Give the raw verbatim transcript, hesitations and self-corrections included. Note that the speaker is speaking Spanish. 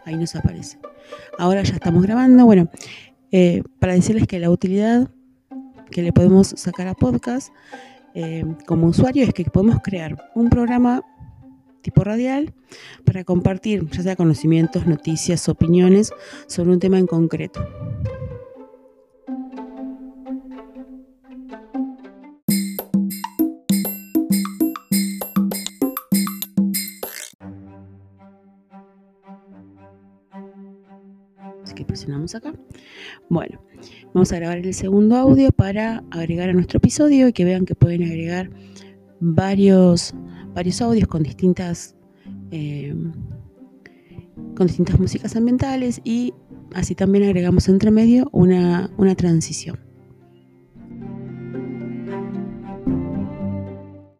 ahí nos aparece. Ahora ya estamos grabando. Bueno, eh, para decirles que la utilidad que le podemos sacar a podcast eh, como usuario es que podemos crear un programa tipo radial para compartir ya sea conocimientos, noticias, opiniones sobre un tema en concreto. Así que presionamos acá. Bueno, vamos a grabar el segundo audio para agregar a nuestro episodio y que vean que pueden agregar varios, varios audios con distintas eh, con distintas músicas ambientales, y así también agregamos entre medio una, una transición.